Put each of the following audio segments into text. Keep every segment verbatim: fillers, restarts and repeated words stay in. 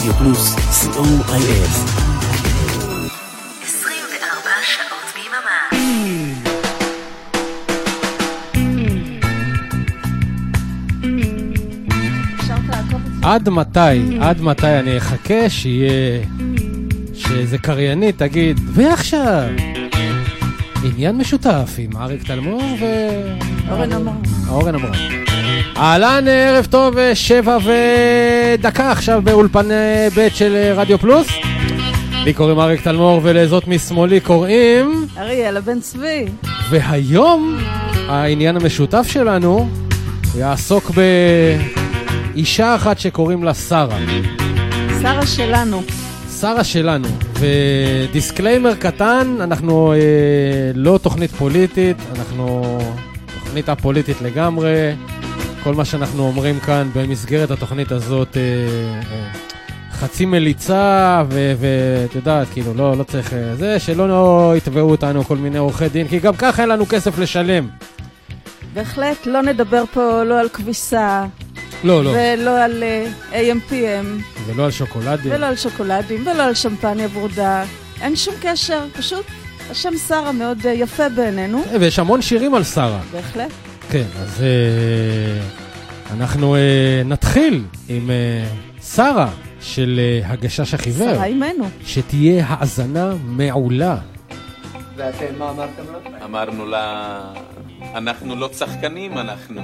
רדיו פלוס, סי או איי אס. עשרים וארבע שעות ביממה. עד מתי, עד מתי אני אחכה שיהיה, שזה קריינית תגיד, ועכשיו, עניין משותף עם אריק תלמור ו... אורן אמרן. אורן אמרן. אהלן, ערב טוב, שבע ודקה עכשיו באולפן ב' של רדיו פלוס. לי קוראים אריק תלמור ולזאת משמאלי קוראים... אריאלה בן צבי. והיום העניין המשותף שלנו יעסוק באישה אחת שקוראים לה שרה. שרה שלנו. שרה שלנו. ודיסקליימר קטן, אנחנו אה, לא תוכנית פוליטית, אנחנו תוכנית הפוליטית לגמרי. כל מה שאנחנו אומרים כאן במסגרת התוכנית הזאת אה, אה, חצי מליצה ואת יודעת, כאילו לא, לא צריך אה, זה, שלא לא יתבעו אותנו כל מיני עורכי דין, כי גם ככה אין לנו כסף לשלם. בהחלט לא נדבר פה לא על כביסה, לא, לא. ולא על איי אם פי אם, ולא על שוקולדים, ולא על שוקולדים, ולא על שמפניה ורודה. אין שום קשר, פשוט השם שרה מאוד יפה בעינינו. ויש המון שירים על שרה. בהחלט. כן, אז אה, אנחנו אה, נתחיל עם אה, שרה של אה, הגשש החיוור. שרה אימנו. שתהיה האזנה מעולה. ואתם מה אמרתם לה? אמרנו לה, אנחנו לא צחקנים, אנחנו.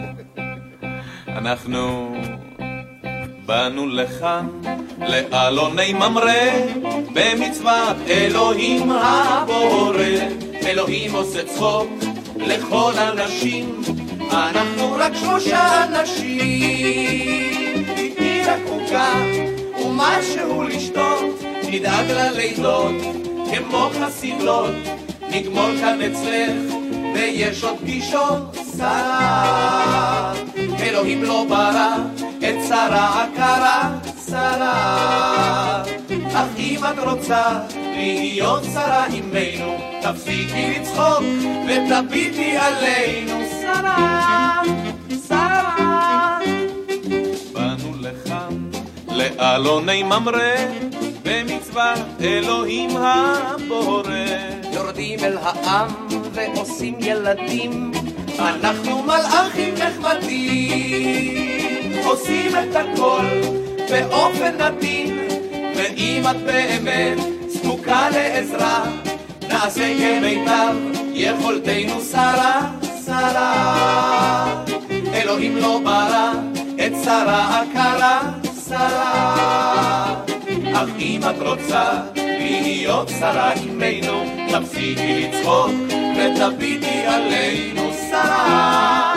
אנחנו באנו לכאן, לאלוני ממרא, במצוות אלוהים הבורא. אלוהים עושה צחוק לכל אנשים, אנחנו רק שלושה אנשים. תתני רק עוגה ומשהו לשתות, נדאג ללילות כמו חסידות, נגמור כאן אצלך ויש עוד פגישות. שרה, אלוהים לא ברא את שרה עקרה. שרה, אך אם את רוצה להיות שרה עמנו, תפסיקי לצחוק ותביטי עלינו. שרה, שרה, באנו לכאן לאלוני ממרא, במצוות אלוהים הבורא. יורדים אל העם ועושים ילדים, אנחנו מלאכים נחמדים, עושים את הכל באופן נתין. ואם את באמת זקוקה לעזרה, נעשה כמיטב יכולתנו. שרה, שרה, אלוהים לא ברא את שרה עקרה. שרה, אך אם את רוצה להיות שרה עמנו, תפסיקי לצחוק ותביטי עלינו. שרה,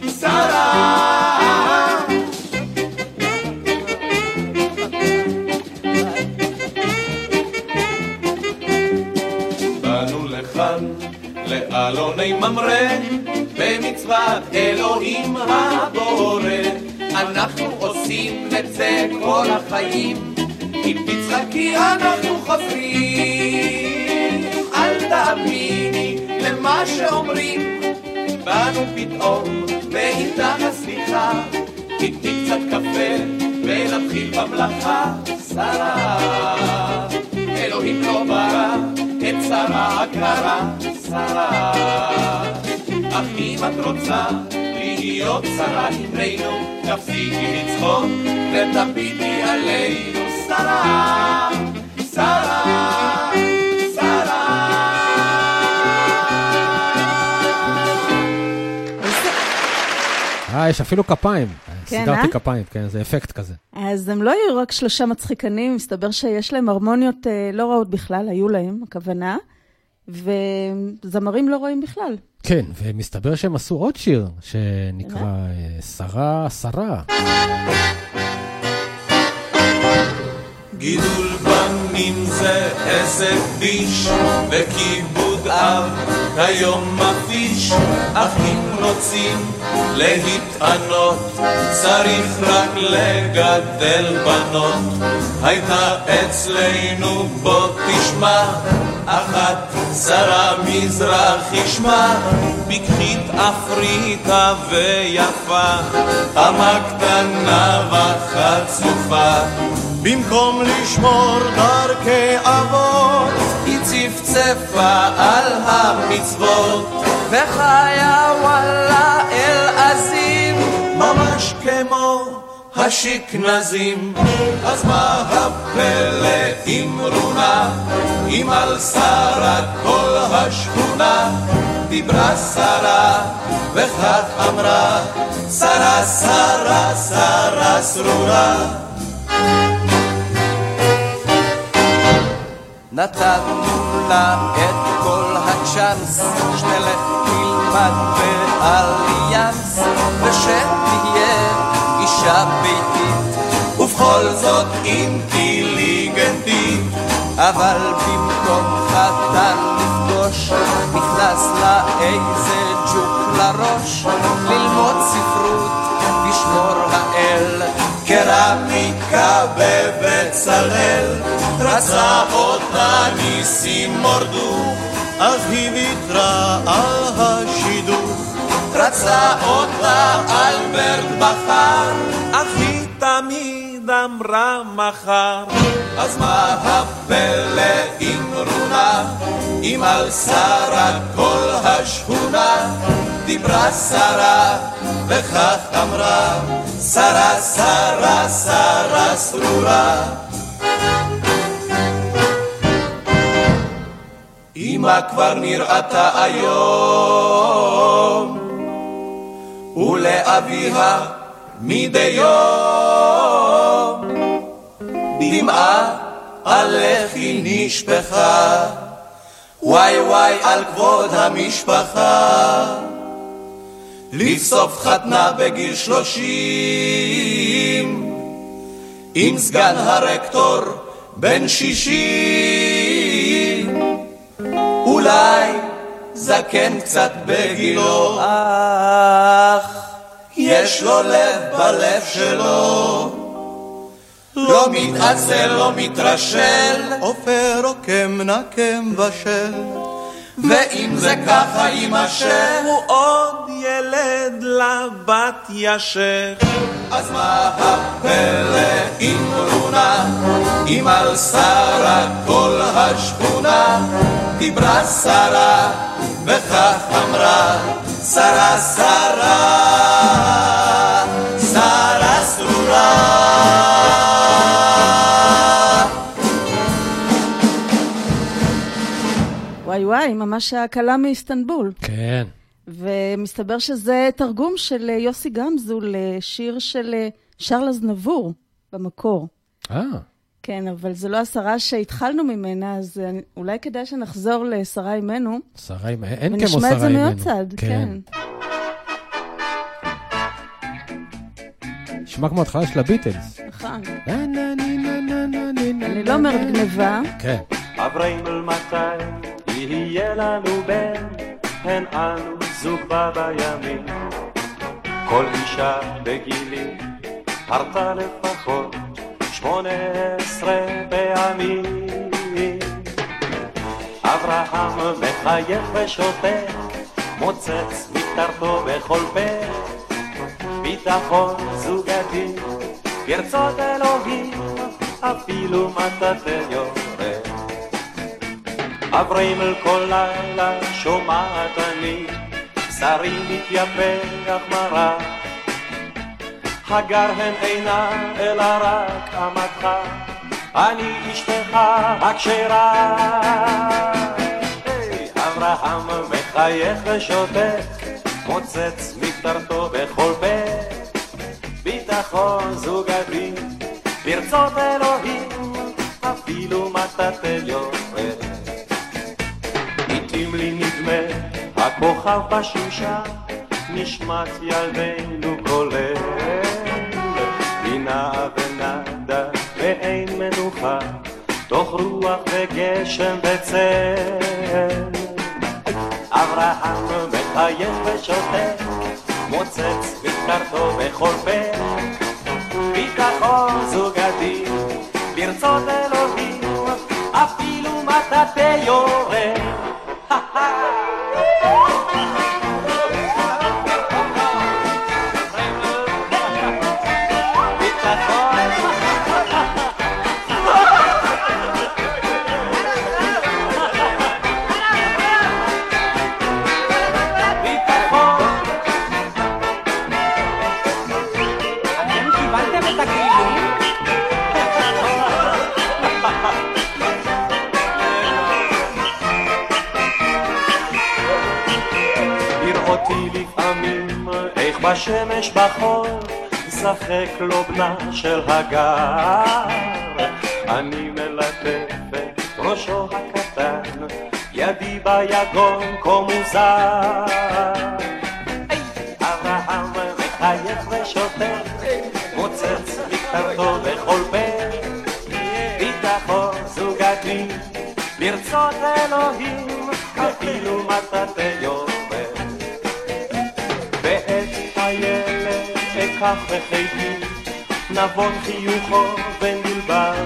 שרה, באנו לכאן לאלוני ממרא, במצוות אלוהים הבורא. אנחנו עושים את זה כל החיים, אם תצחקי אנחנו חוזרים. אל תאמיני למה שאומרים, באנו פתאום ואיתך הסליחה. תתני קצת קפה ונתחיל במלאכה. שרה, אלוהים לא ברא את שרה עקרה. שרה, אך אם את רוצה להיות שרה עמנו, תפסיקי לצחוק ותביטי עלינו. שרה, שרה, שרה. אה, יש אפילו כפיים. כן, סידרתי אה? כפיים, כן, זה אפקט כזה. אז הם לא היו רק שלושה מצחיקנים, מסתבר שיש להם הרמוניות אה, לא רעות בכלל, היו להם, הכוונה, וזמרים לא רואים בכלל. כן, ומסתבר שהם עשו עוד שיר, שנקרא אה, שרה, שרה. גידול בנים זה עסק ביש, וכיבוד אב כיום מפיש. אך אם רוצים להתענות, צריך רק לגדל בנות. הייתה אצלנו בוא תשמע, אחת שרה מזרחי שמה, בקחית אפריקה ויפה, חמה קטנה וחצופה. במקום לשמור דרכי אבות, היא צפצפה על המצוות, וחיה וואלה אל עזים, ממש כמו השכנזים. אז מה הפלא אמרונה, אם על שרה כל השכונה דיברה שרה וכך אמרה, שרה שרה שרה סרורה. נתנו לה את כל הצ'אנס, שתלך תלמד באליאנס, ושתהיה אישה ביתית ובכל זאת אינטליגנטית. אבל במקום חתן לפגוש, נכנס לה איזה ג'וק לראש, ללמוד ספרות לשמור האל, קרמיקה בבצלאל. רצה אותה ניסים מורדו, אז היא ויתרה על השידוך. רצה אותה אלברט בחר, אך היא תמיד אמרה מחר. אז מה הפלא אמרונה, אם על שרה כל השכונה דיברה שרה וכך אמרה, שרה שרה שרה סרורה. אמא כבר נראתה היום, ולאביה מדי יום דמעה על לחי נשפחה, וואי וואי על כבוד המשפחה. לבסוף חתנה בגיל שלושים עם סגן הרקטור בן שישים, אולי זקן קצת בגילו, אך יש לו לב בלב שלו, לא מתעצל, לא מתרשל, עופר עוקם נקם בשל. ואם זה ככה יימשך, הוא עוד ילד לבת ישך. אז מה הפלא אמרונה, אם על שרה כל השכונה דיברה שרה וכך אמרה, שרה שרה שרה סרורה. וואי וואי, ממש הקלה מאיסטנבול. כן. ומסתבר שזה תרגום של יוסי גמזו לשיר של שרל אזנבור במקור. אה. כן, אבל זו לא השרה שהתחלנו ממנה, אז אולי כדאי שנחזור לשרה אימנו. שרה אימנו, אין כמו שרה אימנו. ונשמע את זה מהצד, כן. נשמע כמו התחלה של הביטלס. נכון. אני לא אומרת גניבה. כן. אברהם אל מתי יהיה לנו בן, הן אנו זוג בימים. כל אישה בגילי הרתה לפחות שמונה עשרה פעמים. אברהם מחייך ושותק, מוצץ מקטרתו בכל פה, ביטחון זוגתי ברצות אלוהים, אפילו מטאטא יורד. אברהם אל כל לילה שומעת אני, בשרי מתייפח מרה, הגר הן אינה אלא רק אמתך, אני אשתך הכשרה. אברהם מחייך ושותק, מוצץ מקטרתו בכל פה, ביטחון זוגתי ברצות אלוהים, אפילו מטאטא יורד. לעתים לי נדמה הכוכב בשמשה, נשמת ילדינו כולל, בינה ונדה ואין מנוחה, תוך רוח וגשם וצל. אברהם מחייך ושותק, מוצץ מקטרתו בכל פה, ביטחון זוגתי ברצות אלוהים, אפילו מטאטא יורד. איך בשמש בחור שחק לו בנה של הגר, אני מלטף את ראשו הקטן, ידי ביגון כה מוזר. אברהם מחייך ושוטף, מוצץ מקטרתו בכל פה, ביטחון זוגתי ברצות אלוהים, אפילו מטאטא יורד. ואת הילד אקח בחיתי, נבון חיוכו ונלבר,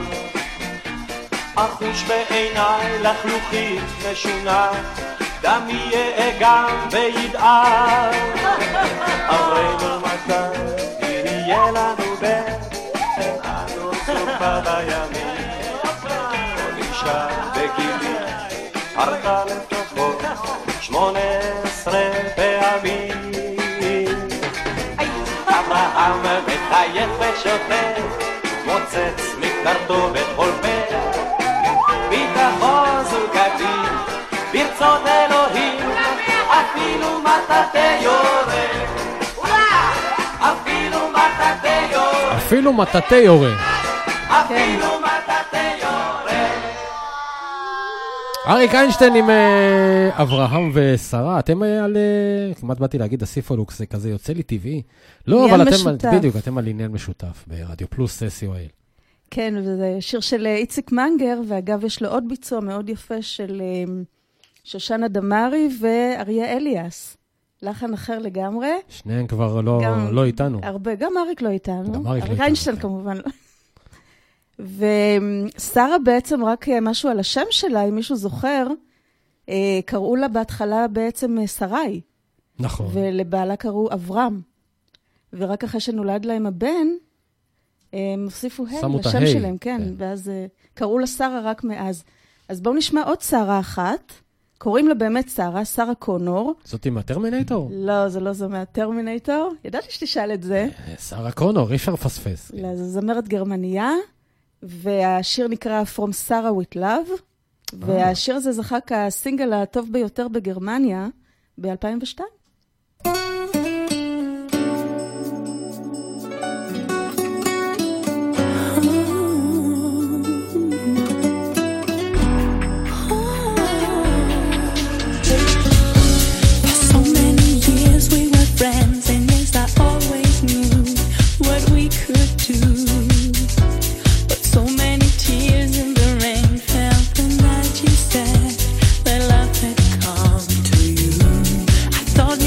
אחוש בעיניי לחלוכית משונה, דם יהיה גם וידער. אמרנו מתי יהיה לנו בן, אנו צופה בימים, כל אישה בגילי הרתה לפחות שמונה עשרה פעמים. אברהם מחייך ושוטף, מוצץ מקטרתו בכל פה, ביטחון זוגתי ברצות אלוהים, אפילו מטאטא יורה, אפילו מטאטא יורה, אפילו מטאטא יורה, אפילו מטאטא יורה. אריק איינשטיין עם uh, אברהם ושרה, אתם uh, על, uh, כמעט באתי להגיד הסיפולוקס, זה כזה יוצא לי טבעי. לא, אבל אתם, משותף. בדיוק, אתם על עניין משותף ברדיו פלוס סי או אל. כן, וזה שיר של איציק מנגר, ואגב יש לו עוד ביצוע מאוד יפה של שושנה דמארי ואריה אליאס. לחן אחר לגמרי. שניהם כבר לא, גם, לא איתנו. הרבה, גם אריק לא איתנו. גם אריק לא איתנו. איינשטיין כמובן לא. ושרה בעצם רק משהו על השם שלה, אם מישהו זוכר, קראו לה בהתחלה בעצם שרי. נכון. ולבעלה קראו אברהם. ורק אחרי שנולד להם הבן, הם הוסיפו ה' לשם שלהם, כן. ואז קראו לה שרה רק מאז. אז בואו נשמע עוד שרה אחת. קוראים לה באמת שרה, שרה קונור. זאת עם הטרמינטור? לא, זה לא זו מהטרמינטור. ידעתי שתשאל את זה. שרה קונור, אי אפשר לפספס. לא, זו זמרת גרמניה, והשיר נקרא From Sarah with Love, והשיר הזה זכה כסינגל הטוב ביותר בגרמניה ב-אלפיים ושתיים. Thought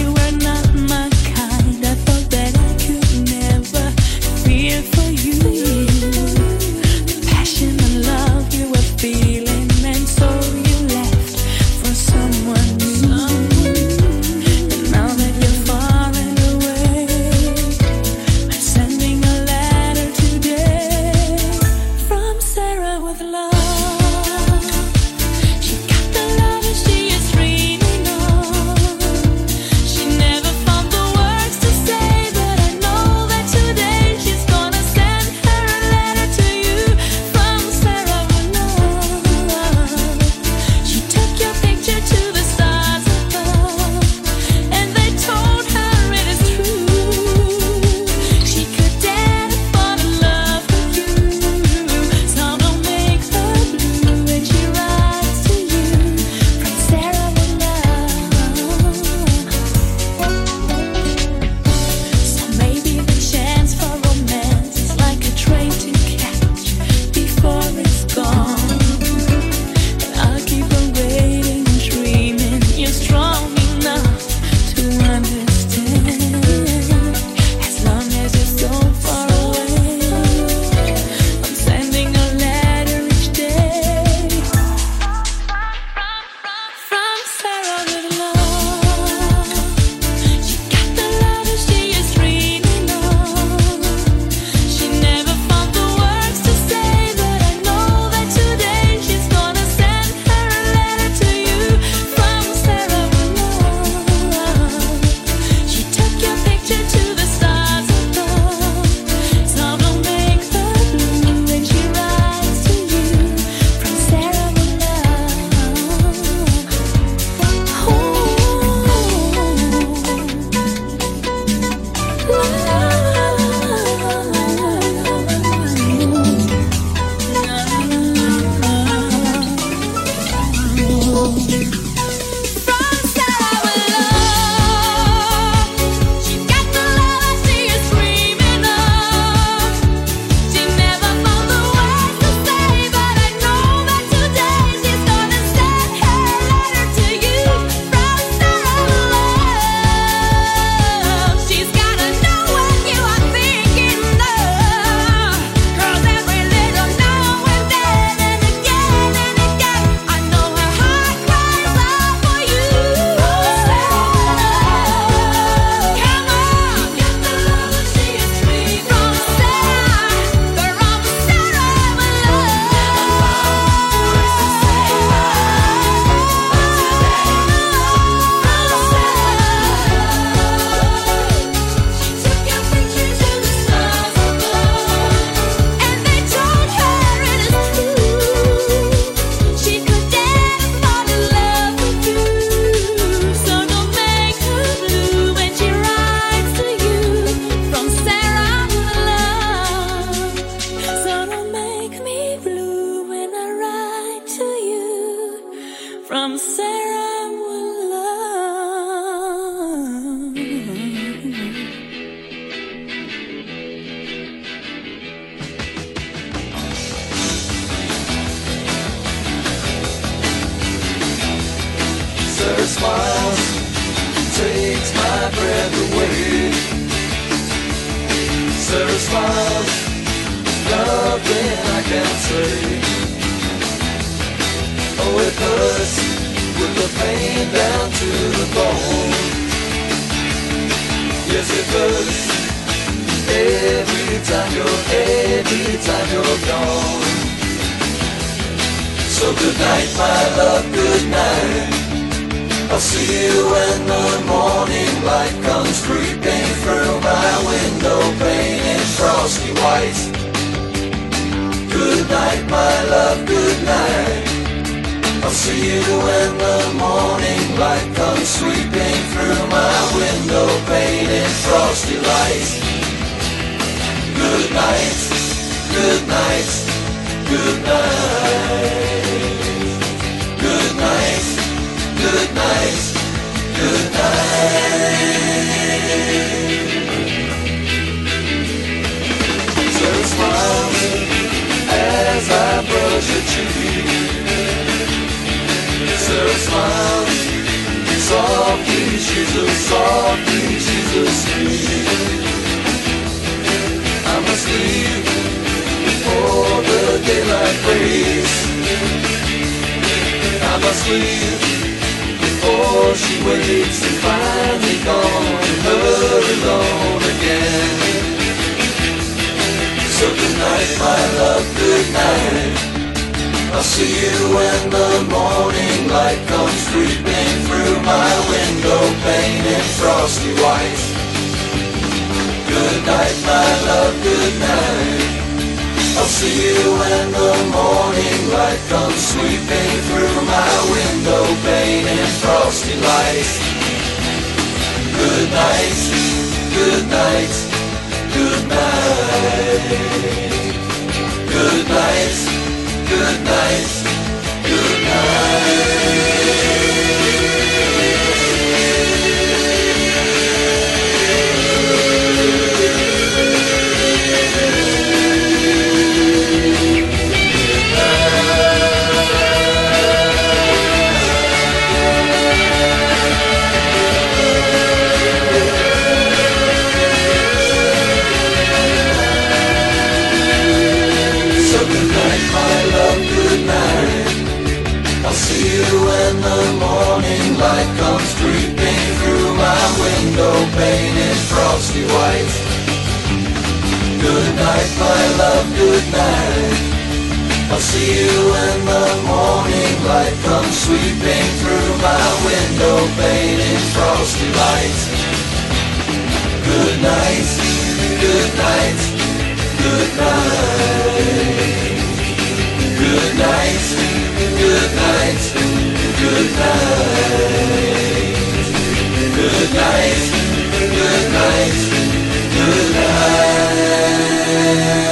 you're gone. So good night, my love, good night. I'll see you when the morning light comes creeping through my window pane in frosty white. Good night, my love, good night. I'll see you when the morning light comes sweeping through my window pane in frosty light. Good night, good night, good night. Good night, good night, good night. So smile as I brush your cheek. So smile, softly she's a softly she's asleep. I must leave before the daylight breaks. I must leave before she wakes and finds me gone, her alone again. So good night, my love, good night. I'll see you when the morning light comes creeping through my window pane in frosty white. Good night, my love, good night. I'll see you when the morning light comes sweeping through my window pane in frosty light. Good night, good night, good night. Good night, good night, good night. When the morning light comes creeping through my window pane in frosty white. Good night, my love, good night. I'll see you when the morning light comes sweeping through my window pane in frosty light. Good night, good night, good night. Good night, good night. Good night, good night, good night, good night.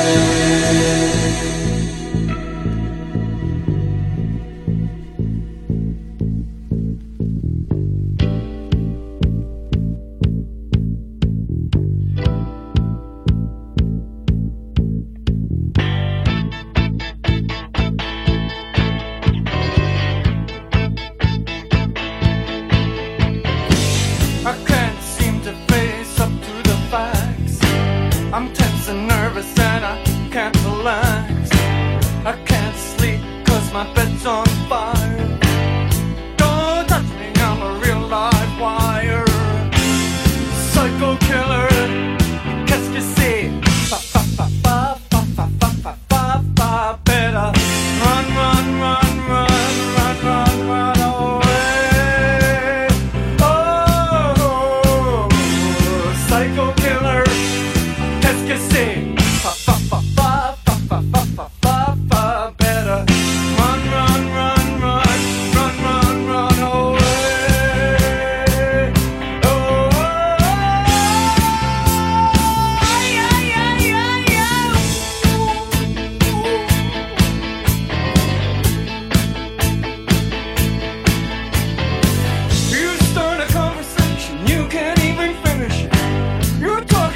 You start a conversation, you can't even finish it. You're talking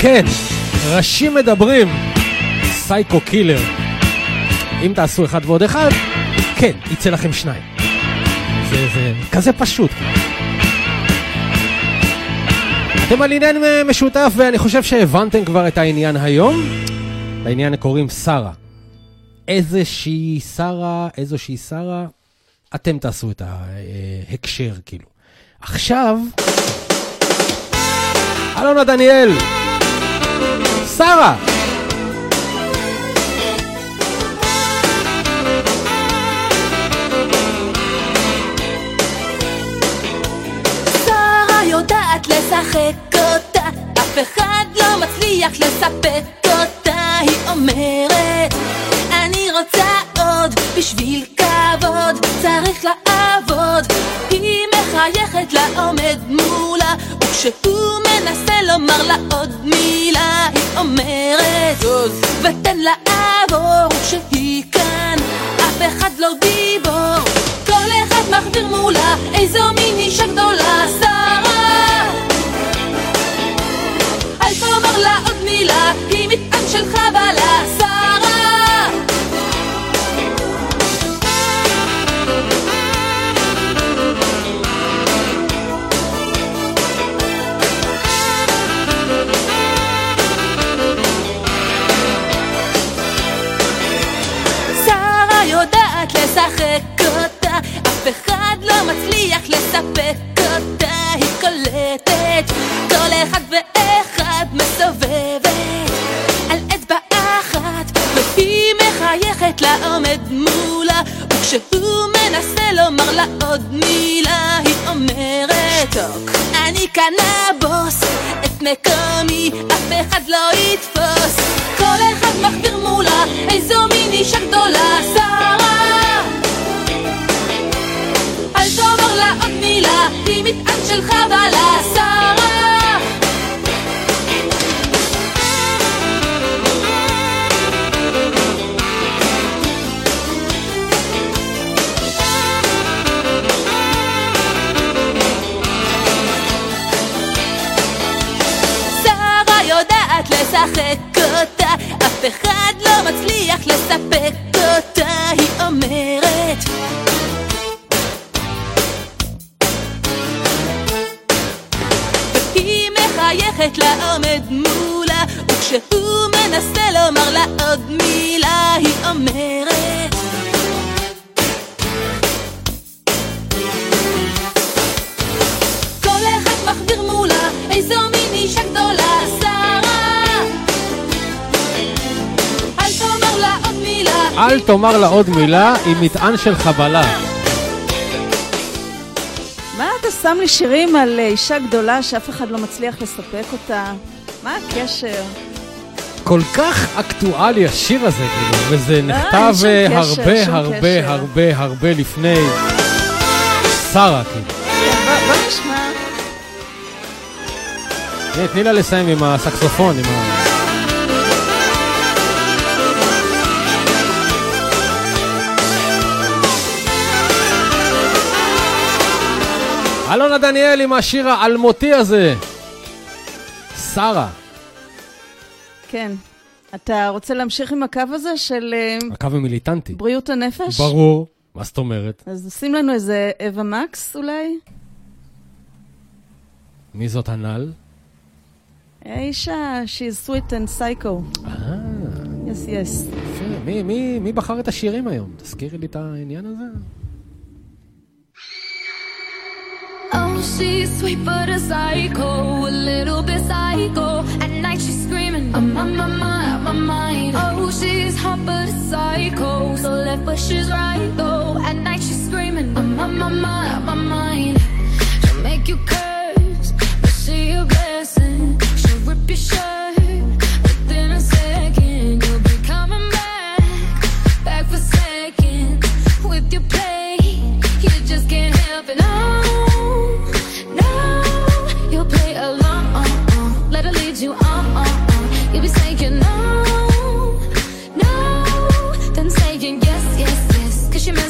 כן, ראשים מדברים, סייקו קילר. אם תעשו אחד ועוד אחד, כן, יצא לכם שניים. זה, זה כזה פשוט. אתם על עניין משותף, ואני חושב שהבנתם כבר את העניין היום. לעניין קוראים שרה. איזושהי שרה, איזושהי שרה, אתם תעשו את ההקשר, כאילו. עכשיו, אלונה דניאל, שרה. שרה יודעת לשחק אותה, אף אחד לא מצליח לספק אותה. היא אומרת, אני רוצה עוד, בשביל כבוד צריך לעבוד. היא מחייכת לעומד מולה, וכשהוא מנסה לומר לה עוד מילה, היא אומרת זוז ותן לעבור. וכשהיא כאן אף אחד לא גיבור, כל אחד מחביר מולה איזו מין אישה גדולה. שרה, אל תאמר לה עוד מילה, היא מטען של חבלה. שרה, יודעת לשחק אותה, אף אחד לא מצליח לספק אותה. היא קולטת כל אחד ואחד, מסובבת על אצבע אחת, והיא מחייכת לעומד מולה. וכשהוא מנסה לומר לה עוד מילה, היא אומרת שתוק, אני כאן הבוס, את מקומי אף אחד לא יתפוס. כל אחד מחביר מולה איזו מין אישה גדולה. שרה, אל תאמר לה עוד מילה, היא מטען של חבלה. שרה, שרה יודעת לשחק אותה, אף אחד לא מצליח לספק אותה. היא אומרת, והיא מחייכת לעומד מולה, וכשהוא מנסה לומר לה עוד מילה, היא אומרת כל אחד מחביר מולה איזו מין אישה גדולה. אל תאמר לה עוד מילה, היא מטען של חבלה. מה אתה שם לי שירים על אישה גדולה שאף אחד לא מצליח לספק אותה? מה הקשר? כל כך אקטואלי השיר הזה, כאילו, וזה נכתב הרבה הרבה הרבה הרבה לפני שרה, כאילו. בוא נשמע. תני לה לסיים עם הסקסופון, עם ה... אלונה דניאל עם השיר האלמותי הזה. שרה. כן. אתה רוצה להמשיך עם הקו הזה של... הקו המיליטנטי. בריאות הנפש? ברור. מה זאת אומרת? אז שים לנו איזה אווה מקס אולי? מי זאת הנל? אישה, she's sweet and psycho. אה. yes, yes. מי, מי, מי בחר את השירים היום? תזכירי לי את העניין הזה. Oh, she's sweet but a psycho, a little bit psycho. At night she's screaming, I'm on my mind, on my mind. Oh, she's hot but a psycho, so left but she's right though. At night she's screaming, I'm on my mind, on my mind. She'll make you curse, but she a blessing. She'll rip your shirt within a second. You'll be coming back, back for seconds. With your play, you just can't help it. No. Let her lead you on, on, on. You'll be saying no, no, then saying yes, yes, yes. Cause she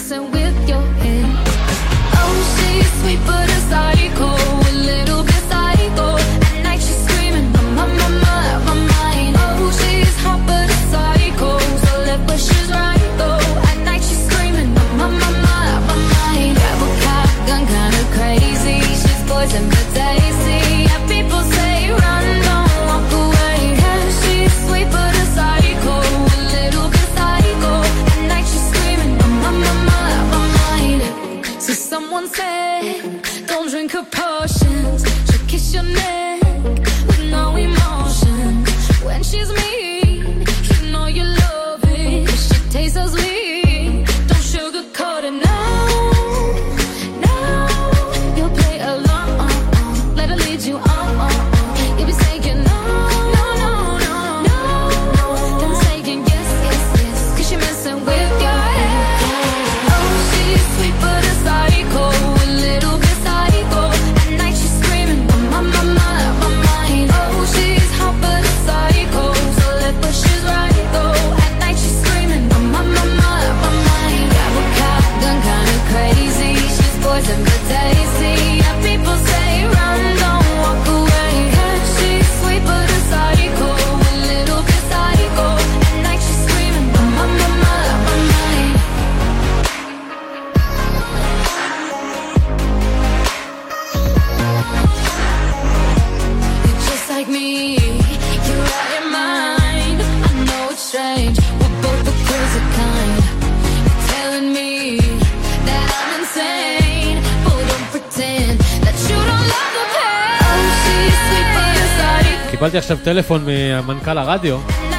she's mean. You know you love it, 'cause she tastes so sweet. Don't sugarcoat it now, no. You'll play along, let her lead you on. You'll be saying no, no, no, no, no. Then saying yes, yes, yes, 'cause you're messing with your head. Oh, she's sweet but a psycho, a little bit psycho. At night she's screaming, my, my, my, my, my mind. Oh, she's hot but a psycho, so left but she's right though. At night she's screaming, my, my, my, my, my mind. Got a cop gun kinda crazy, she's poison but tasty. And people say run, don't walk away. 'Cause she's sweet but a psycho, a little bit psycho. At night she's screaming, my, my, my, my, my mind. You're just like me, you're out your mind. I know it's strange, we're both the crazy kind. You're telling me that I'm insane, but don't pretend that you don't love the pain. Oh, she's sweet but a psycho. קיבלתי עכשיו טלפון ממנכ"ל הרדיו,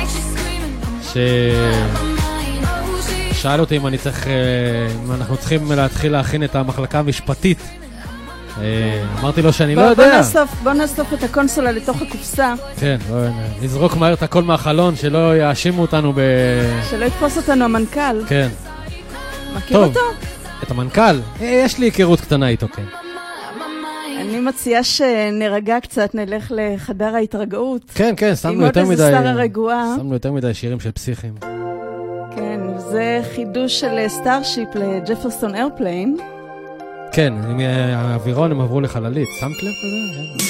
ששאל אותי אם אני צריך, אם אנחנו צריכים להתחיל להכין את המחלקה המשפטית. אמרתי לו שאני לא יודע. בוא נאסוף את הקונסולה לתוך הקופסה. כן, נזרוק מהר את הכל מהחלון, שלא יאשימו אותנו ב... שלא יתפוס אותנו המנכ"ל. כן. מכיר אותו? את המנכ"ל? יש לי היכרות קטנה איתו, כן. אני מציעה שנרגע קצת, נלך לחדר ההתרגעות. כן, כן, שמנו יותר מדי... עם עוד איזה שרה רגועה. שמנו יותר מדי שירים של פסיכים. כן, זה חידוש של סטארשיפ לג'פרסון איירפליין. כן, עם האווירון הם עברו לחללית. שמת לב כזה?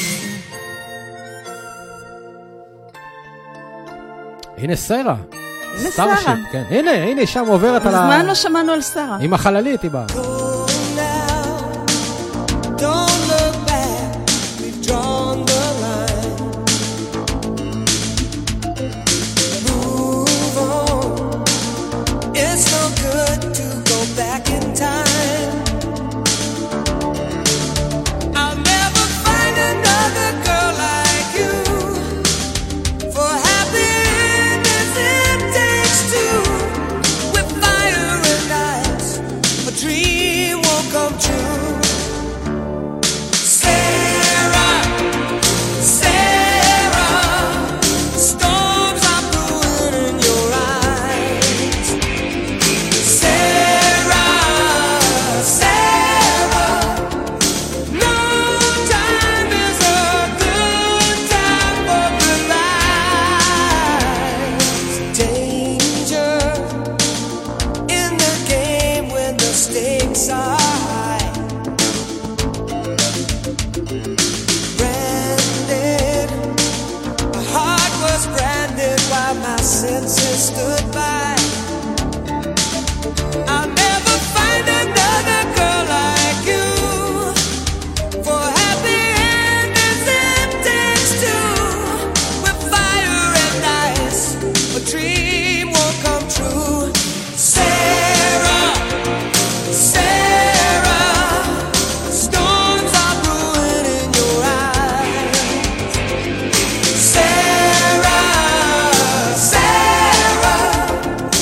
הנה סרה. הנה סרה. כן. הנה, הנה, שם עוברת על ה... מזמן לא שמענו על סרה. עם החללית היא באה. Don't look back, we've drawn the line. Move on. It's no good to go back in time. I'll never find another girl like you. For happiness it takes two. With fire and ice, a dream won't come true. Senses stood by. I'll never find another girl like you. For happy endings it takes two. With fire and ice, a dream won't come true. Sarah, Sarah, storms are brewing in your eyes. Sarah,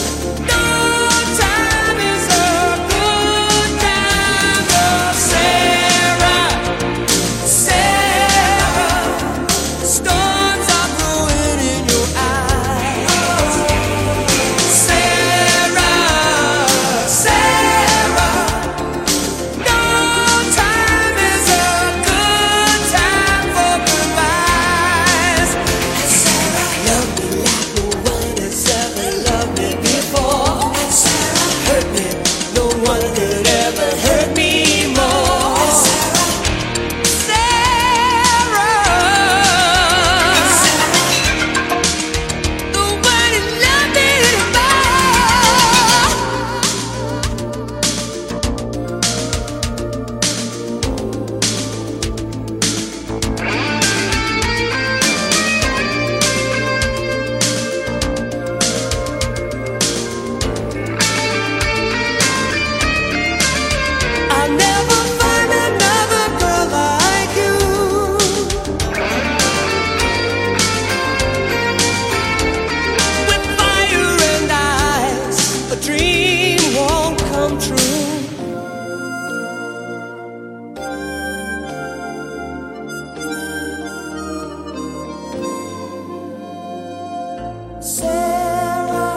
Sarah,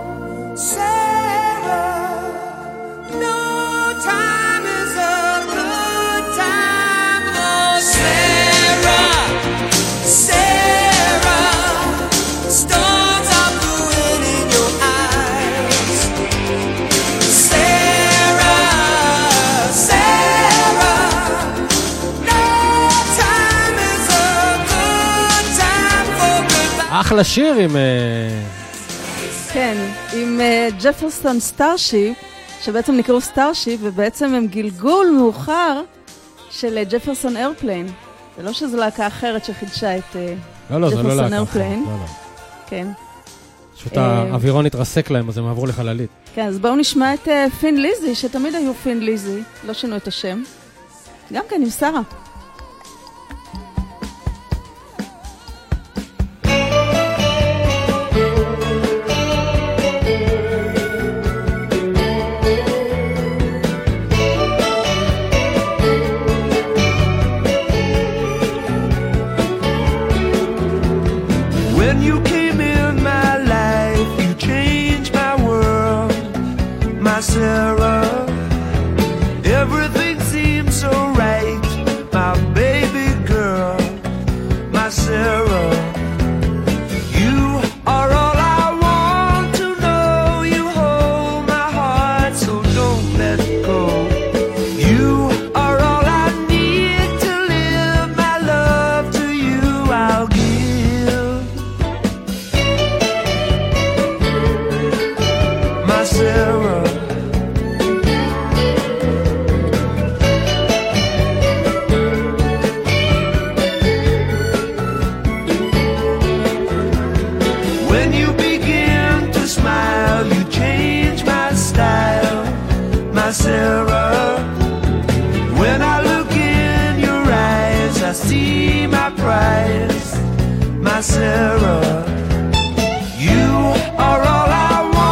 Sarah, no time is a good time. Oh, Sarah, Sarah, storms are brewing in your eyes. Sarah, Sarah, no time is a good time for goodbye. אחלה שיר עם... כן, עם uh, ג'פרסון סטארשיפ, שבעצם נקראו סטארשיפ, ובעצם הם גלגול מאוחר של uh, ג'פרסון איירפליין. זה לא שזו להקה אחרת שחידשה את uh, לא, לא, זה לא ג'פרסון להקה איירפליין. אחרת, לא, לא. כן. פשוט האווירון התרסק להם, אז הם עברו לחללית. כן, אז בואו נשמע את uh, פין ליזי, שתמיד היו פין ליזי, לא שינו את השם. גם כן עם שרה. When you came in my life, you changed my world, my Sarah. Everything seems so right, my baby girl, my Sarah. You are all I want to know. You hold my heart, so don't let go. You are all I need to live my love to you. I'll give. Sarah, when you begin to smile, you change my style, my Sarah. When I look in your eyes, I see my prize, my Sarah. You are all I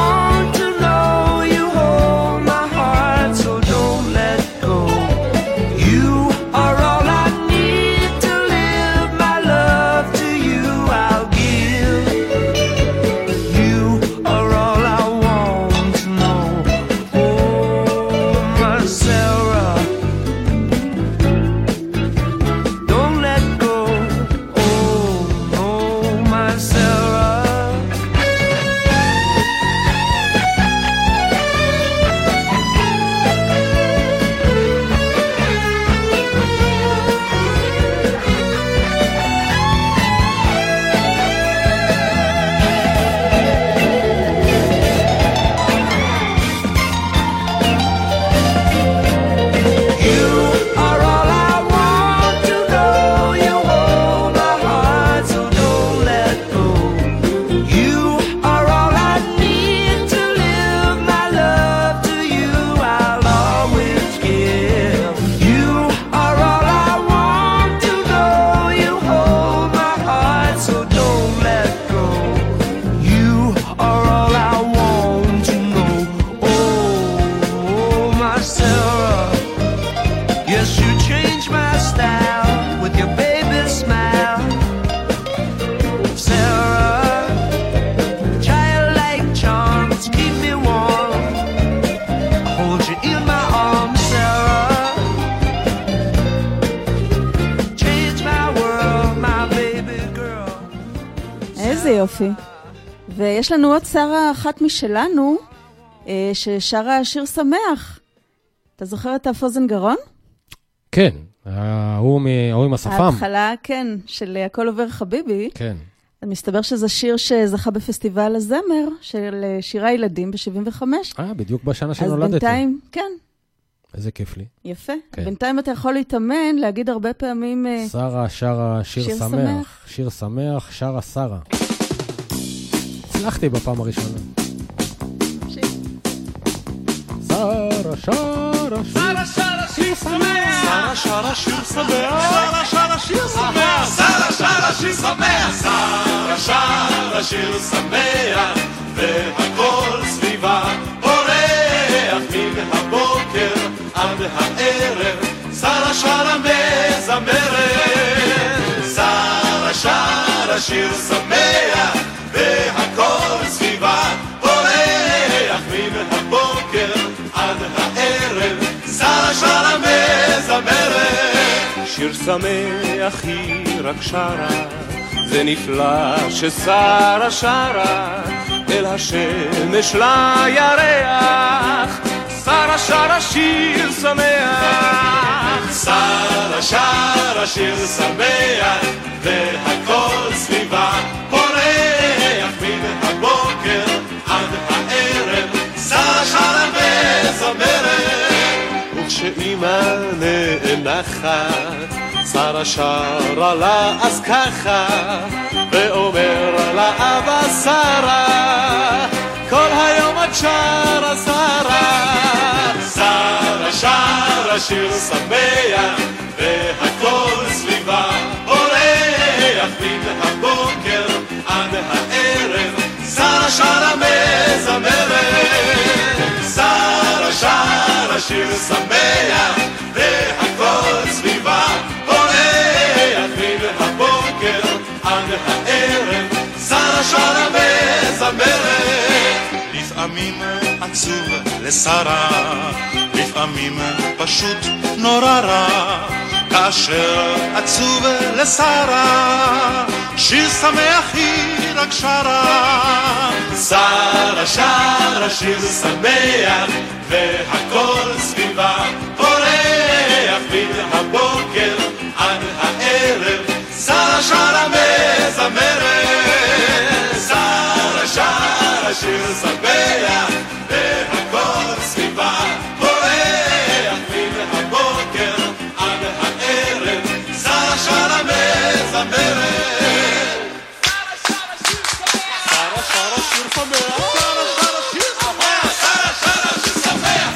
יופי. ויש לנו עוד שרה אחת משלנו, ששרה שיר שמח. אתה זוכר את הפוזן גרון? כן, ההוא עם השפם. ההתחלה, כן, של הכל עובר חביבי. כן. מסתבר שזה שיר שזכה בפסטיבל הזמר של שירי ילדים ב-שבעים וחמש. אה, בדיוק בשנה שנולדתי. אז בינתיים, כן. איזה כיף לי. יפה. כן. בינתיים אתה יכול להתאמן, להגיד הרבה פעמים... שרה, שרה, שיר, שיר שמח. שמח. שיר שמח, שרה, שרה. הצלחתי בפעם הראשונה. שיר. שרה, שרה, שרה, שרה, שיר שמח. שרה, שרה, שיר שמח. שרה, שרה, שיר שמח. שרה, שרה, שיר שמח. שרה, שרה, שיר שמח. והכל סביבה פורח מן הבוקר עד הערב. שרה, שרה, מזמרת. שרה, שרה, שיר שמח. והכל שמח היא רק שרה, זה נפלא ששרה שרה אל השמש לירח, שרה שרה שיר שמח, שרה שרה שיר שמח והכל סביבה פורח מן הבוקר עד הערב, שרה שרה וזמרת, וכשאימא נאנחת שרה שרה לה אז ככה ואומר לה אבא שרה כל היום את שרה שרה, שרה שרה שיר שמח והכל סביבה פורח מן הבוקר עד הערב, שרה שרה מזמרת, שרה שרה שיר שמח והכל סביבה פורח מן הבוקר עד הערב, שרה שרה מזמרת. לפעמים עצוב לשרה, לפעמים פשוט נורא רע, כאשר עצוב לשרה שיר שמח היא רק שרה, שרה שרה שיר שמח והכל סביבה פורח מן הבוקר עד הערב, שרה שרה מזמרת, שרה שרה שיר שמח והכל סביבה פורח מן הבוקר עד הערב, שרה שרה מזמרת, שרה שרה שיר שמח, שרה שרה שיר שמח, שרה שרה שיר שמח.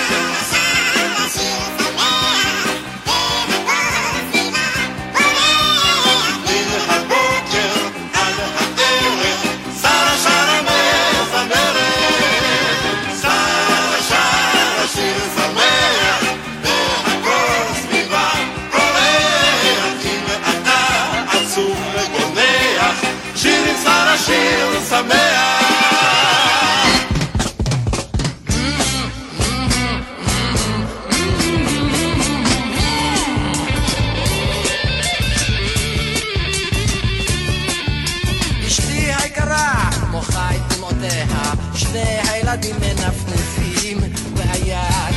שיר שמח. אשתי היקרה מוחה את דמעותיה, שני הילדים מנפנפים ביד,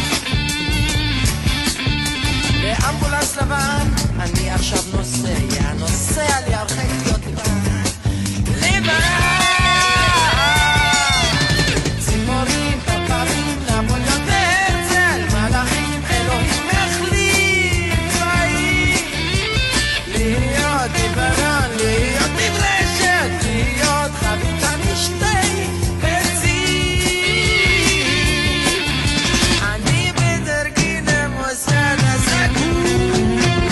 באמבולנס לבן אני עכשיו נוסע, נוסע לי הרחק להיות לבן ציפורים, פרפרים, נפוליאון והרצל, מלאכים, אלוהים החליט צבאי, להיות עיוורון, להיות נדרשת, להיות חביתה משתי ביצים, אני בדרכי למוסד הסגור,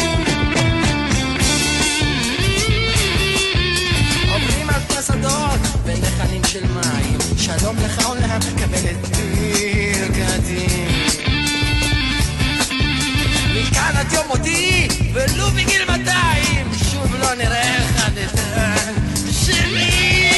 עוברים על פסדות ונחלים של מים, שלום לך עולם, קבל את ברכתי, מכאן עד יום מותי ולו בגיל מאתיים שוב לא נראה אחד את השני,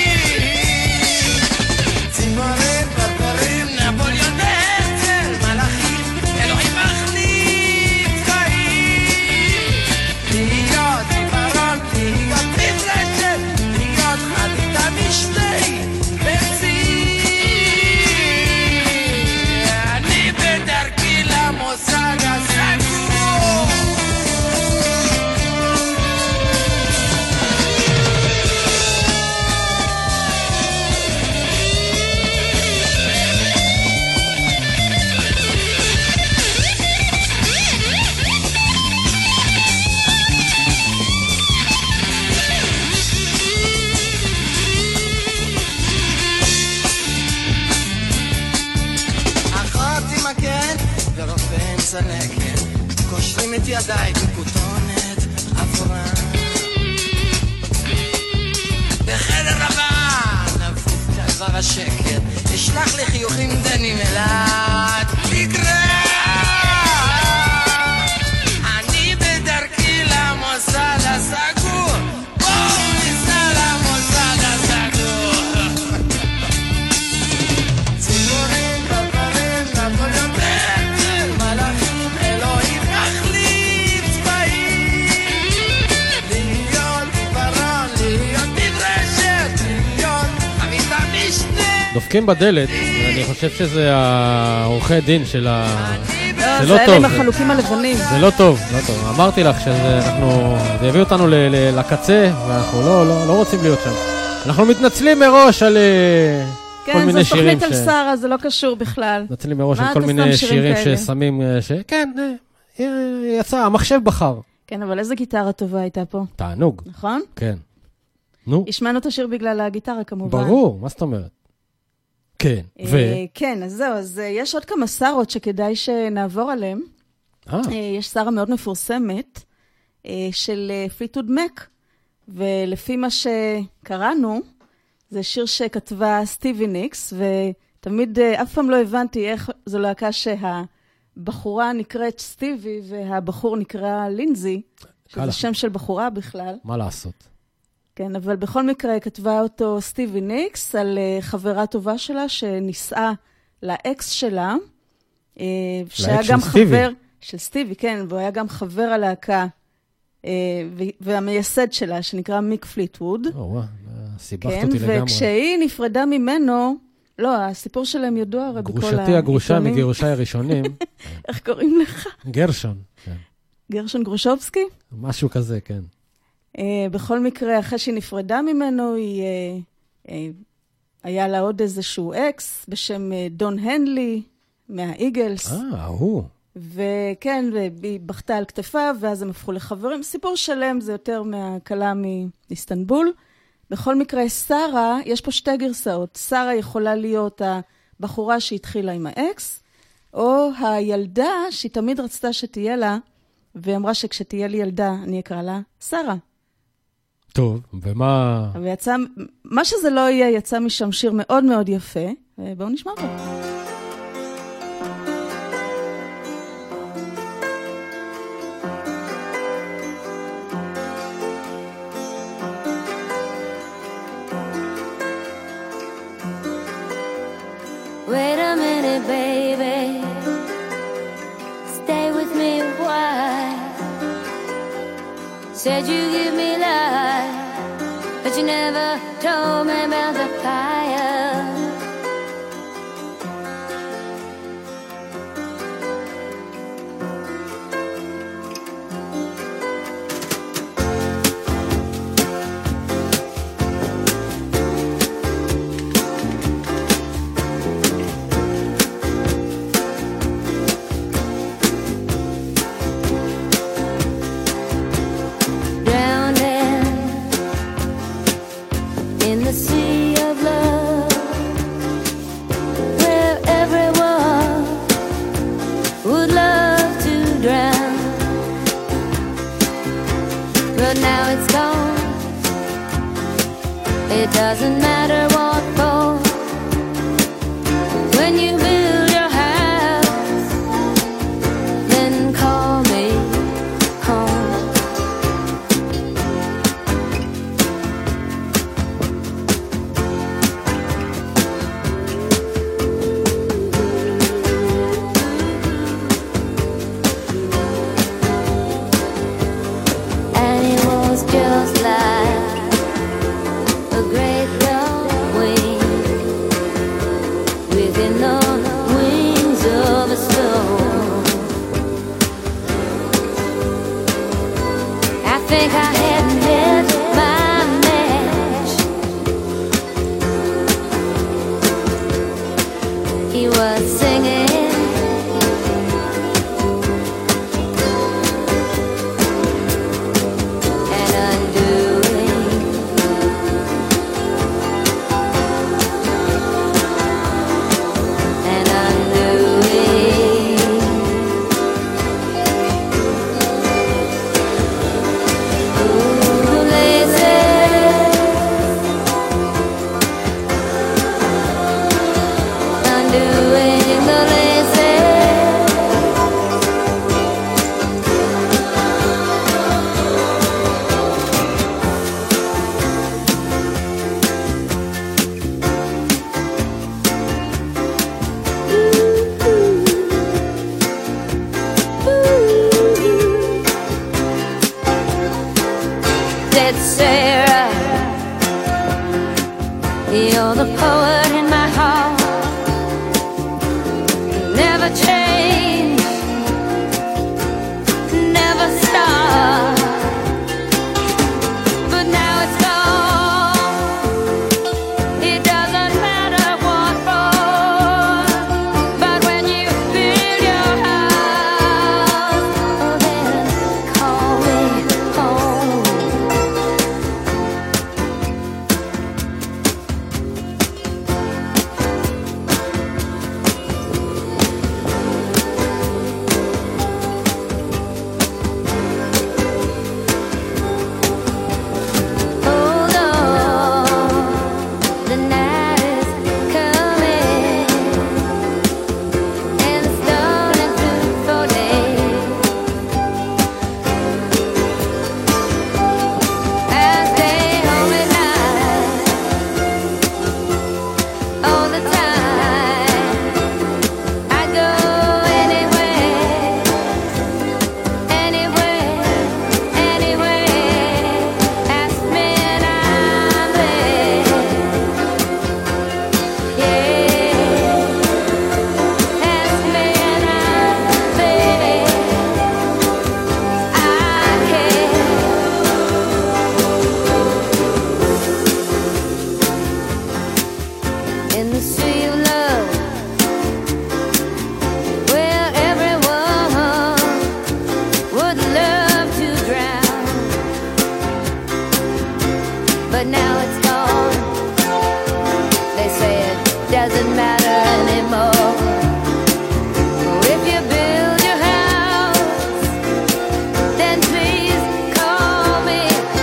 ציפורים, פרפרים, נפוליאון והרצל, מלאכים, אלוהים מחליט חיים, להיות עיוורון, להיות נדרשת, להיות חביתה משתי ביצים, אני בדרכי למוסד הסגור. אחות עם מקל ורופא עם צלקת, קושרים את ידיי בכותונת אפורה, בחדר לבן נפוף כעבר השקט, אשלח לי חיוכים דנים אלעד תקרא, אני בדרכי למוסד הסגור, בואו ניסע למוסד הסגור, ציפורים, פרפרים, נפוליאון והרצל, מלאכים, אלוהים מחליט צבאי, דופקים בדלת, ואני חושב שזה העורכי דין של ה... זה לא טוב. זה אלה עם החלוקים הלבנים. זה לא טוב, לא טוב. אמרתי לך שאנחנו... זה הביא אותנו לקצה, ואנחנו לא רוצים להיות שם. אנחנו מתנצלים מראש על כל מיני שירים ש... כן, זו תוכנית על שרה, זה לא קשור בכלל. מתנצלים מראש על כל מיני שירים ששמים... כן, יצא, המחשב בחר. כן, אבל איזה גיטרה טובה הייתה פה. תענוג. נכון? כן. נו. השמענו את השיר בגלל הגיטרה כמובן. ברור, מה זאת אומרת? כן, ו... כן, אז זהו, אז יש עוד כמה שרות שכדאי שנעבור עליהן. יש שרה מאוד מפורסמת של פליטווד מק, ולפי מה שקראנו, זה שיר שכתבה סטיבי ניקס, ותמיד אף פעם לא הבנתי איך זו להקה שהבחורה נקראת סטיבי, והבחור נקרא לינזי, שזה שם של בחורה בכלל. מה לעשות? כן, אבל בכל מקרה כתבה אותו סטיבי ניקס על uh, חברה טובה שלה שנישאה לאקס שלה, uh, שהיה גם סטיבי. חבר של סטיבי, כן, והוא היה גם חבר הלהקה, uh, והמייסד שלה שנקרא מיק פליטווד. או, וואו, סיבכת כן, אותי לגמרי. וכשהיא נפרדה ממנו, לא, הסיפור שלהם ידוע הרי בכל העיתונים. גרושתי הגרושה מגירושי הראשונים. איך קוראים לך? גרשון. כן. גרשון גרושובסקי? משהו כזה, כן. Uh, בכל מקרה, אחרי שהיא נפרדה ממנו, היא, uh, uh, היה לה עוד איזשהו אקס בשם uh, דון הנלי מהאיגלס. אה, הוא. וכן, והיא בכתה על כתפיו, ואז הם הפכו לחברים. סיפור שלם, זה יותר מהקלה מאיסטנבול. בכל מקרה, שרה, יש פה שתי גרסאות. שרה יכולה להיות הבחורה שהתחילה עם האקס, או הילדה שהיא תמיד רצתה שתהיה לה, ואמרה שכשתהיה לי ילדה, אני אקרא לה שרה. טוב, ומה... ויצא, מה שזה לא יהיה, יצא משם שיר מאוד מאוד יפה, ובואו נשמע אותו. Wait a minute, baby. Stay with me a while. Said you give me life, but you never told me about the fire. It doesn't matter what for. When you build your house, then call me home. And it was just like a great long wing within the wings of a storm. I think I had met my match. He was singing and undoing. And undoing. Ooh, lazy. Undoing the lazy. Said Sarah, you're the poet in my heart. never change, never stop. But now it's gone. It doesn't matter what for. But when you build your house, oh, then call me home. Hold on, the night is coming, and it's dawning beautiful day. I stay home at night all the time. I go anywhere, anywhere, anywhere. Ask me and I'm there. Yeah, ask me and I'm there. I care. In the sea of love, where everyone would love to drown, but now it's gone. They say it doesn't matter anymore. If you build your house, then please call me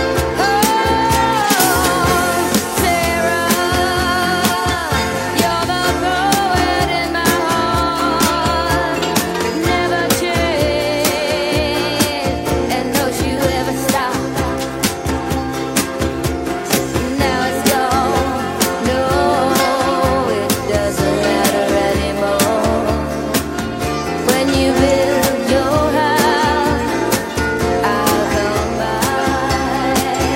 home. Sarah, you're the poet in my heart. Never change, and don't you ever stop. Now it's gone. No, it doesn't matter anymore. When you build your house, I'll come by.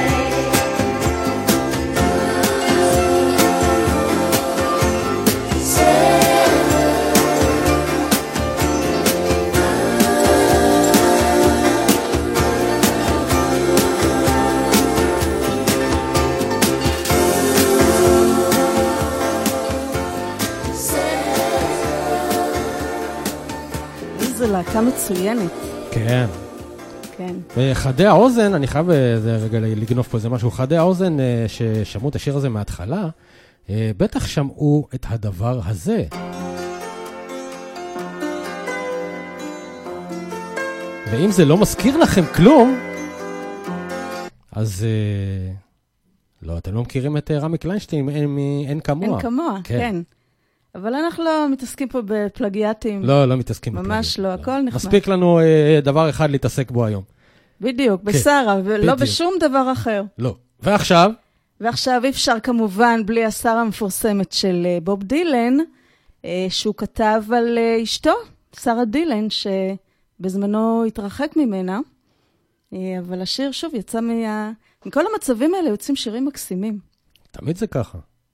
איזו להקה מצוינת. כן. כן. וחדי האוזן, אני חייב זה רגע לגנוב פה איזה משהו, חדי האוזן אה, ששמעו את השיר הזה מההתחלה, אה, בטח שמעו את הדבר הזה. ואם זה לא מזכיר לכם כלום, אז אה, לא, אתם לא מכירים את אה, רמי קליינשטיין, אין, אין כמוה. אין כמוה, כן. כן. אבל אנחנו לא מתעסקים פה בפלגיאטים. לא, לא מתעסקים ממש בפלגיאטים. ממש לא, הכל נחמד. מספיק לנו אה, דבר אחד להתעסק בו היום. בדיוק, בשרה, ולא בשום דבר אחר. לא. ועכשיו? ועכשיו אי אפשר כמובן בלי השרה המפורסמת של אה, בוב דילן, אה, שהוא כתב על אה, אשתו, שרה דילן, שבזמנו התרחק ממנה. אה, אבל השיר שוב יצא מה... מכל המצבים האלה יוצאים שירים מקסימים. תמיד זה ככה.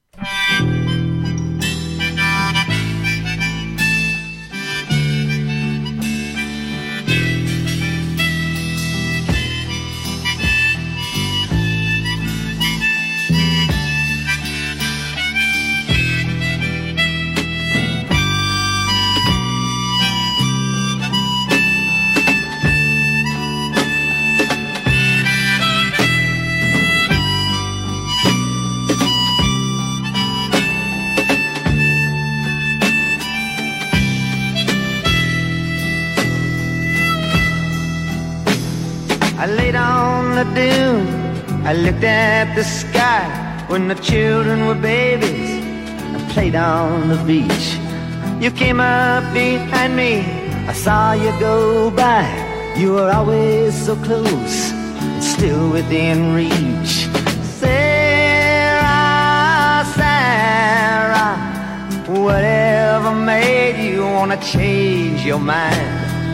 I laid on the dune, I looked at the sky when the children were babies. I played on the beach. You came up behind me, I saw you go by. You were always so close, and still within reach. Sarah, Sarah, whatever made you wanna change your mind?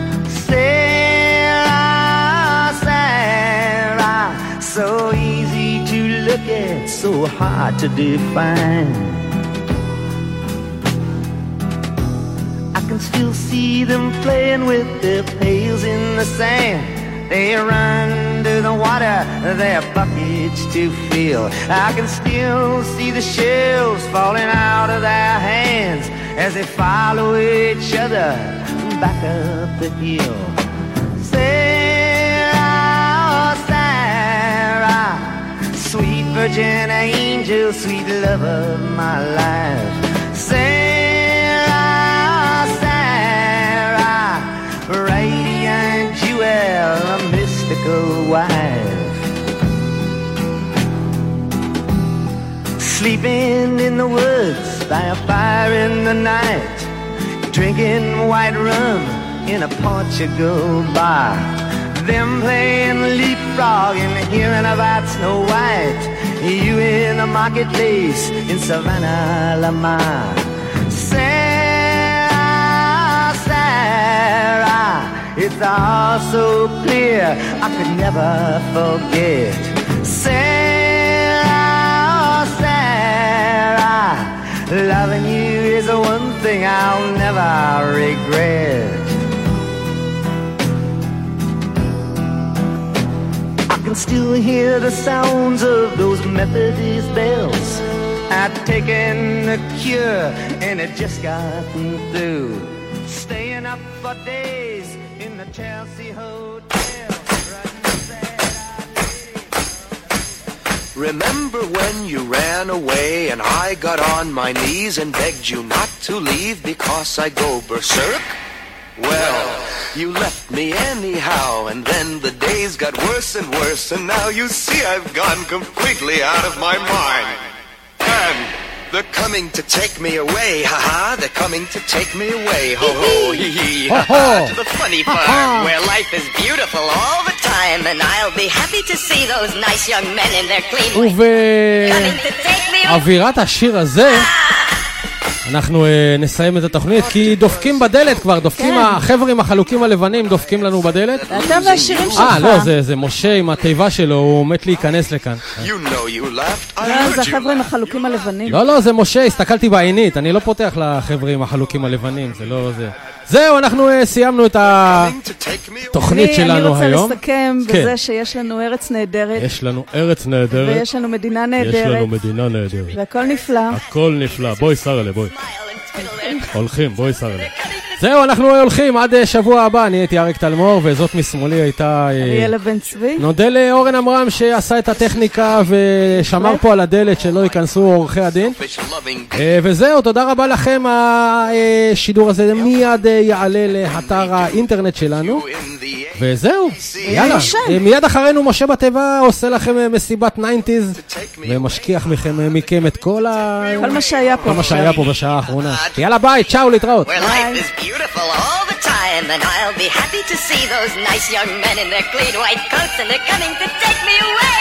Sarah, Sarah, so easy to look at, so hard to define. I can still see them playing with their pails in the sand. They run to the water, their buckets to fill. I can still see the shells falling out of their hands as they follow each other back up the hill. Sarah, Sarah, sweet virgin angel, sweet love of my life. Sarah, Sarah, radiant jewel, a mystical wife. Sleeping in the woods by a fire in the night, drinking white rum in a Portugal bar. Them playing leapfrog and hearing about Snow White. You in the marketplace in Savannah, Lamar. Sarah, Sarah, it's all so clear I could never forget. Sarah, Sarah, loving you is the one thing I'll never regret. I can still hear the sounds of those Methodist bells. I'd taken the cure and it just gotten through. Staying up for days in the Chelsea Hotel. Remember when you ran away and I got on my knees and begged you not to leave because I go berserk? Well, you left me anyhow, and then the days got worse and worse, and now you see I've gone completely out of my mind. And they're coming to take me away, ha-ha, they're coming to take me away, ho-ho, hee-hee, ha-ha, to the funny farm, where life is beautiful all the time, and I'll be happy to see those nice young men in their clean way. Coming to take me away. אווירת השיר הזה אנחנו uh, נסיים את התוכנית, כי דופקים בדלת כבר, דופקים, החברים החלוקים הלבנים דופקים לנו בדלת. אתה והשירים שלך. אה, לא, זה, זה משה עם התיבה שלו, הוא מת להיכנס לכאן. זה החברים החלוקים הלבנים. לא, לא, זה משה, הסתכלתי בעינית, אני לא פותח לחברים החלוקים הלבנים, זה לא זה. זהו, אנחנו uh, סיימנו את התוכנית שלנו היום. אני רוצה לסכם בזה שיש לנו ארץ נהדרת. יש לנו ארץ נהדרת. ויש לנו מדינה נהדרת. יש לנו מדינה נהדרת. והכל נפלא. הכל נפלא. בואי שרה, בואי. הולכים, בואי שרה. זהו, אנחנו הולכים עד שבוע הבא. אני הייתי אריק תלמור, וזאת משמאלי הייתה אריאלה בן צבי. נודה לאורן אמרם שעשה את הטכניקה ושמר פה על הדלת שלא ייכנסו עורכי הדין. וזהו, תודה רבה לכם. השידור הזה מיד יעלה לאתר האינטרנט שלנו. וזהו, יאללה. מיד אחרינו משה בטבע עושה לכם מסיבת ניינטיז ומשכיח מכם מכם את כל ה... כל מה שהיה פה. כל מה שהיה פה בשעה האחרונה. יאללה ביי, צ'או, להתראות. Beautiful all the time, and I'll be happy to see those nice young men in their clean white coats, and they're coming to take me away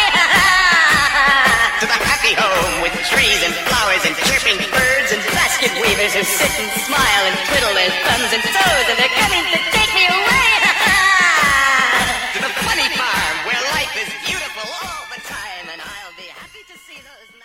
to the happy home with trees and flowers and chirping birds and basket weavers who sit and smile and twiddle their thumbs and toes, and they're coming to take me away to the funny farm where life is beautiful all the time, and I'll be happy to see those